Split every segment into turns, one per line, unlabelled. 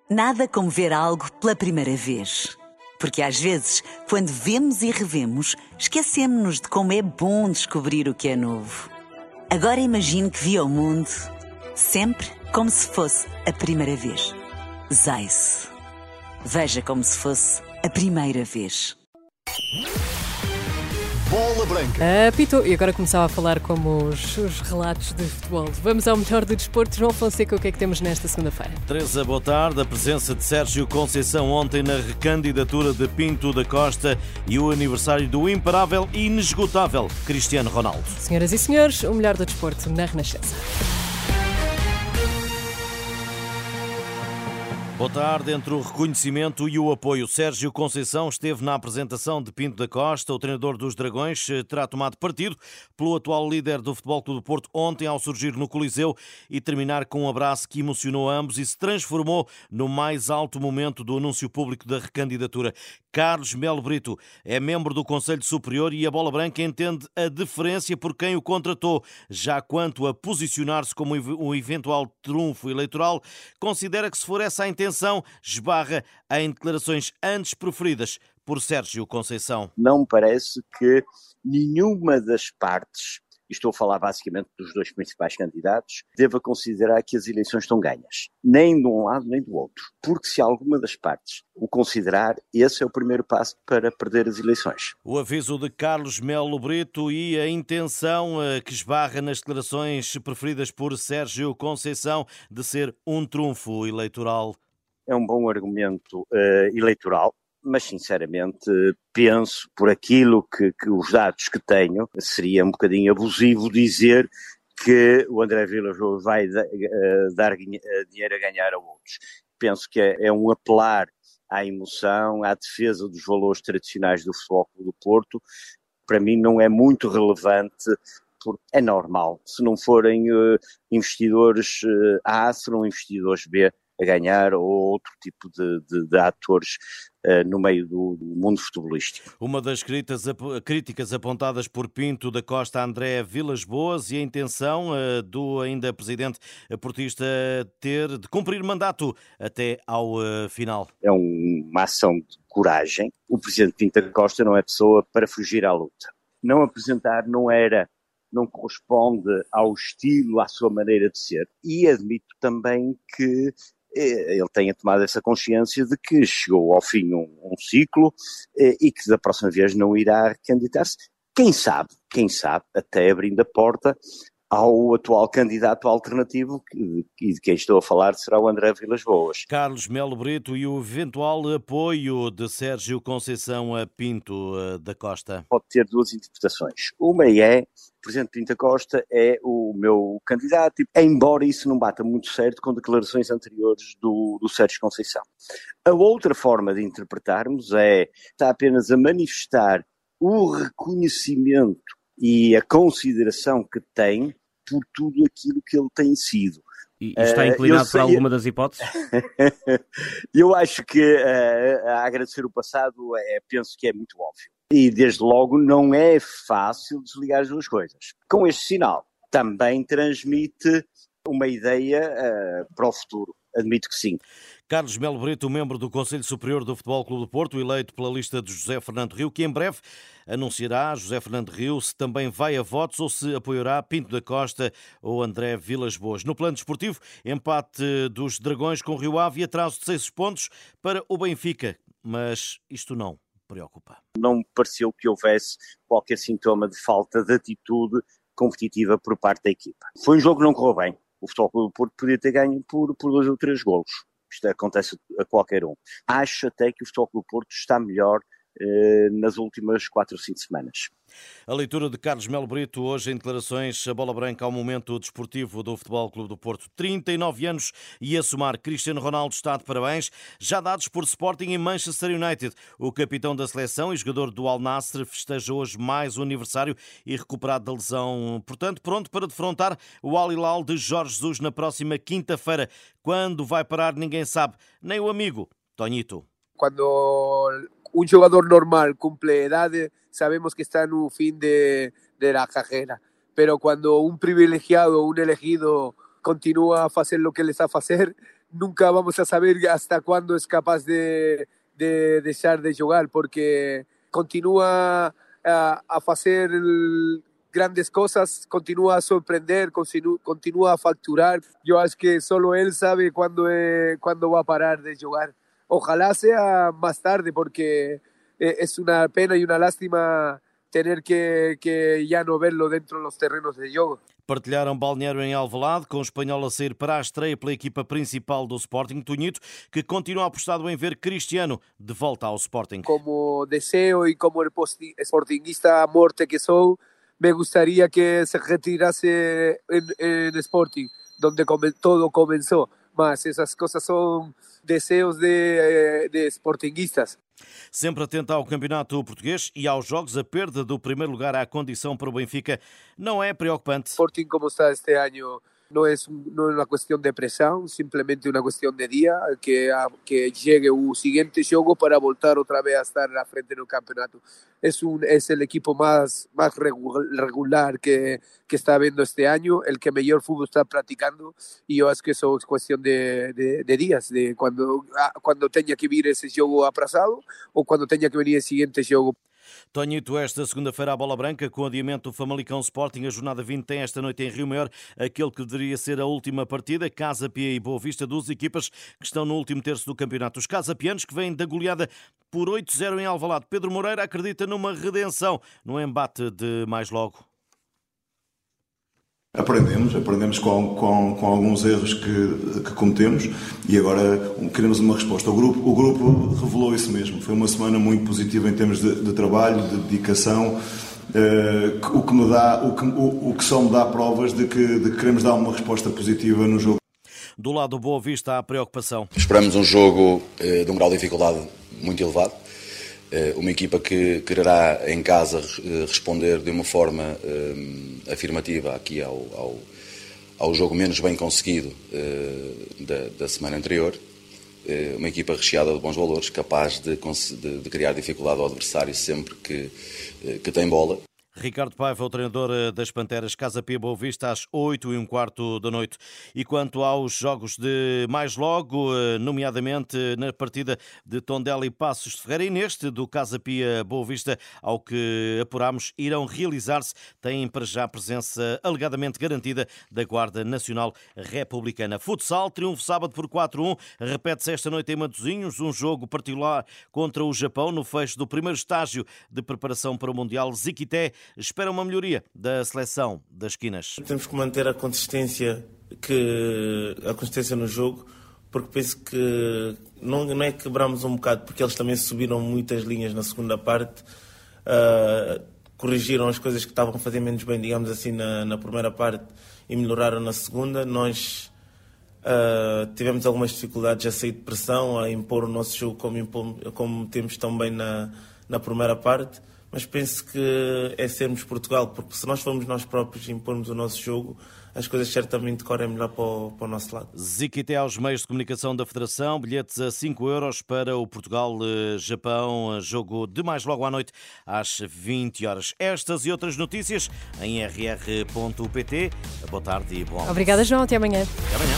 Nada como ver algo pela primeira vez. Porque às vezes, quando vemos e revemos, esquecemos-nos de como é bom descobrir o que é novo. Agora imagine que viu o mundo sempre como se fosse a primeira vez. Zais. Veja como se fosse a primeira vez.
Bola Branca.
Apitou. E agora começava a falar como os relatos de futebol. Vamos ao melhor do desporto. João Fonseca, o que é que temos nesta segunda-feira?
Teresa, boa tarde. A presença de Sérgio Conceição ontem na recandidatura de Pinto da Costa e o aniversário do imparável e inesgotável Cristiano Ronaldo.
Senhoras e senhores, o melhor do desporto na Renascença.
Boa tarde. Entre o reconhecimento e o apoio, Sérgio Conceição esteve na apresentação de Pinto da Costa. O treinador dos Dragões terá tomado partido pelo atual líder do Futebol Clube do Porto ontem ao surgir no Coliseu e terminar com um abraço que emocionou ambos e se transformou no mais alto momento do anúncio público da recandidatura. Carlos Melo Brito é membro do Conselho Superior e a Bola Branca entende a deferência por quem o contratou. Já quanto a posicionar-se como um eventual trunfo eleitoral, considera que se for essa a intenção, esbarra em declarações antes proferidas por Sérgio Conceição.
Não me parece que nenhuma das partes, e estou a falar basicamente dos dois principais candidatos, deva considerar que as eleições estão ganhas. Nem de um lado nem do outro. Porque se alguma das partes o considerar, esse é o primeiro passo para perder as eleições.
O aviso de Carlos Melo Brito e a intenção que esbarra nas declarações preferidas por Sérgio Conceição de ser um trunfo eleitoral.
É um bom argumento eleitoral, mas sinceramente penso, por aquilo que os dados que tenho, seria um bocadinho abusivo dizer que o André Vilas Boas vai dar dinheiro a ganhar a outros. Penso que é um apelar à emoção, à defesa dos valores tradicionais do Futebol Clube do Porto. Para mim não é muito relevante, porque é normal. Se não forem investidores A, serão investidores B a ganhar ou outro tipo de atores no meio do mundo futebolístico.
Uma das críticas apontadas por Pinto da Costa a André Vilas Boas e a intenção do ainda presidente portista de cumprir mandato até ao final.
É uma ação de coragem. O presidente Pinto da Costa não é pessoa para fugir à luta. Não apresentar não corresponde ao estilo, à sua maneira de ser. E admito também que ele tenha tomado essa consciência de que chegou ao fim um ciclo e que da próxima vez não irá candidatar-se. Quem sabe, até abrindo a porta ao atual candidato alternativo, e de quem estou a falar será o André Vilas Boas.
Carlos Melo Brito e o eventual apoio de Sérgio Conceição a Pinto da Costa.
Pode ter duas interpretações. Uma é: o presidente Pinto da Costa é o meu candidato, embora isso não bata muito certo com declarações anteriores do Sérgio Conceição. A outra forma de interpretarmos está apenas a manifestar o reconhecimento e a consideração que tem por tudo aquilo que ele tem sido.
E está inclinado para alguma das hipóteses?
Eu acho que a agradecer o passado penso que é muito óbvio. E desde logo não é fácil desligar as duas coisas. Com este sinal também transmite uma ideia para o futuro. Admito que sim.
Carlos Melo Brito, membro do Conselho Superior do Futebol Clube do Porto, eleito pela lista de José Fernando Rio, que em breve anunciará José Fernando Rio se também vai a votos ou se apoiará Pinto da Costa ou André Vilas Boas. No plano desportivo, empate dos Dragões com Rio Ave e atraso de 6 pontos para o Benfica. Mas isto não preocupa.
Não me pareceu que houvesse qualquer sintoma de falta de atitude competitiva por parte da equipa. Foi um jogo que não correu bem. O Futebol Clube do Porto podia ter ganho por 2 ou 3 golos. Isto acontece a qualquer um. Acho até que o Futebol Clube do Porto está melhor nas últimas 4 ou 5 semanas.
A leitura de Carlos Melo Brito hoje em declarações a Bola Branca ao momento desportivo do Futebol Clube do Porto. 39 anos e a somar. Cristiano Ronaldo está de parabéns, já dados por Sporting e Manchester United. O capitão da seleção e jogador do Al Nassr festeja hoje mais um aniversário e recuperado da lesão. Portanto, pronto para defrontar o Al Hilal de Jorge Jesus na próxima quinta-feira. Quando vai parar ninguém sabe, nem o amigo Toñito.
Quando un jugador normal cumple edades, sabemos que está en un fin de la carrera. Pero cuando un privilegiado, un elegido, continúa a hacer lo que les sabe hacer, nunca vamos a saber hasta cuándo es capaz de dejar de jugar, porque continúa a hacer grandes cosas, continúa a sorprender, continúa a facturar. Yo acho que solo él sabe cuándo va a parar de jugar. Ojalá sea más tarde, porque es una pena y una lástima tener que ya no verlo dentro de los terrenos de juego.
Partilharam balneário em Alvalade, com o espanhol a sair para a estreia pela equipa principal do Sporting, Toñito, que continua apostado em ver Cristiano de volta ao Sporting.
Como deseo y como el sportinguista a muerte que soy, me gustaría que se retirase en Sporting, donde todo comenzó. Mas esas cosas son deseos de sportinguistas.
Sempre atento ao campeonato português e aos jogos, a perda do primeiro lugar à condição para o Benfica não é preocupante.
Sporting, como está este año, no es una cuestión de presión, simplemente una cuestión de día, que llegue un siguiente juego para voltar otra vez a estar a frente del campeonato. Es el equipo más regular que está viendo este año, el que mejor fútbol está practicando, y yo es que eso es cuestión de días, de cuando tenga que vir ese juego aplazado o cuando tenga que venir el siguiente juego.
Toñito, esta segunda-feira a Bola Branca, com o adiamento do Famalicão Sporting, a jornada 20 tem esta noite em Rio Maior aquele que deveria ser a última partida, Casa Pia e Boa Vista, duas equipas que estão no último terço do campeonato. Os casapianos que vêm da goleada por 8-0 em Alvalade. Pedro Moreira acredita numa redenção no embate de mais logo.
Aprendemos com alguns erros que cometemos e agora queremos uma resposta. O grupo revelou isso mesmo. Foi uma semana muito positiva em termos de trabalho, de dedicação, o que só me dá provas de que queremos dar uma resposta positiva no jogo.
Do lado do Boa Vista há preocupação.
Esperamos um jogo de um grau de dificuldade muito elevado. Uma equipa que quererá em casa responder de uma forma afirmativa aqui ao jogo menos bem conseguido da semana anterior. Uma equipa recheada de bons valores, capaz de criar dificuldade ao adversário sempre que tem bola.
Ricardo Paiva, o treinador das Panteras, Casa Pia Boa Vista, às 8h15 da noite. E quanto aos jogos de mais logo, nomeadamente na partida de Tondela e Passos de Ferreira e neste do Casa Pia Boa Vista, ao que apuramos, irão realizar-se, têm para já a presença alegadamente garantida da Guarda Nacional Republicana. Futsal, triunfo sábado por 4-1, repete-se esta noite em Matosinhos, um jogo particular contra o Japão, no fecho do primeiro estágio de preparação para o Mundial. Ziquité espera uma melhoria da seleção das esquinas.
Temos que manter a consistência no jogo, porque penso que não é que quebramos um bocado, porque eles também subiram muitas linhas na segunda parte, corrigiram as coisas que estavam a fazer menos bem, digamos assim, na primeira parte e melhoraram na segunda. Nós tivemos algumas dificuldades a sair de pressão, a impor o nosso jogo como temos também na primeira parte. Mas penso que é sermos Portugal, porque se nós formos nós próprios e impormos o nosso jogo, as coisas certamente correm melhor para o nosso lado.
Ziquité aos meios de comunicação da Federação, bilhetes a 5€ para o Portugal-Japão, jogo de mais logo à noite às 20 horas. Estas e outras notícias em rr.pt. Boa tarde e bom almoço.
Obrigada, João. Até amanhã.
Até amanhã.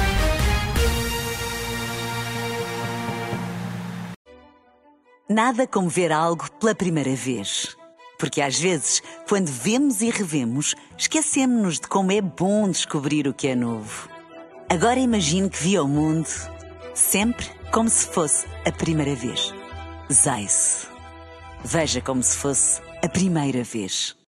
Nada como ver algo pela primeira vez. Porque às vezes, quando vemos e revemos, esquecemos-nos de como é bom descobrir o que é novo. Agora imagine que viu o mundo sempre como se fosse a primeira vez. Zais. Veja como se fosse a primeira vez.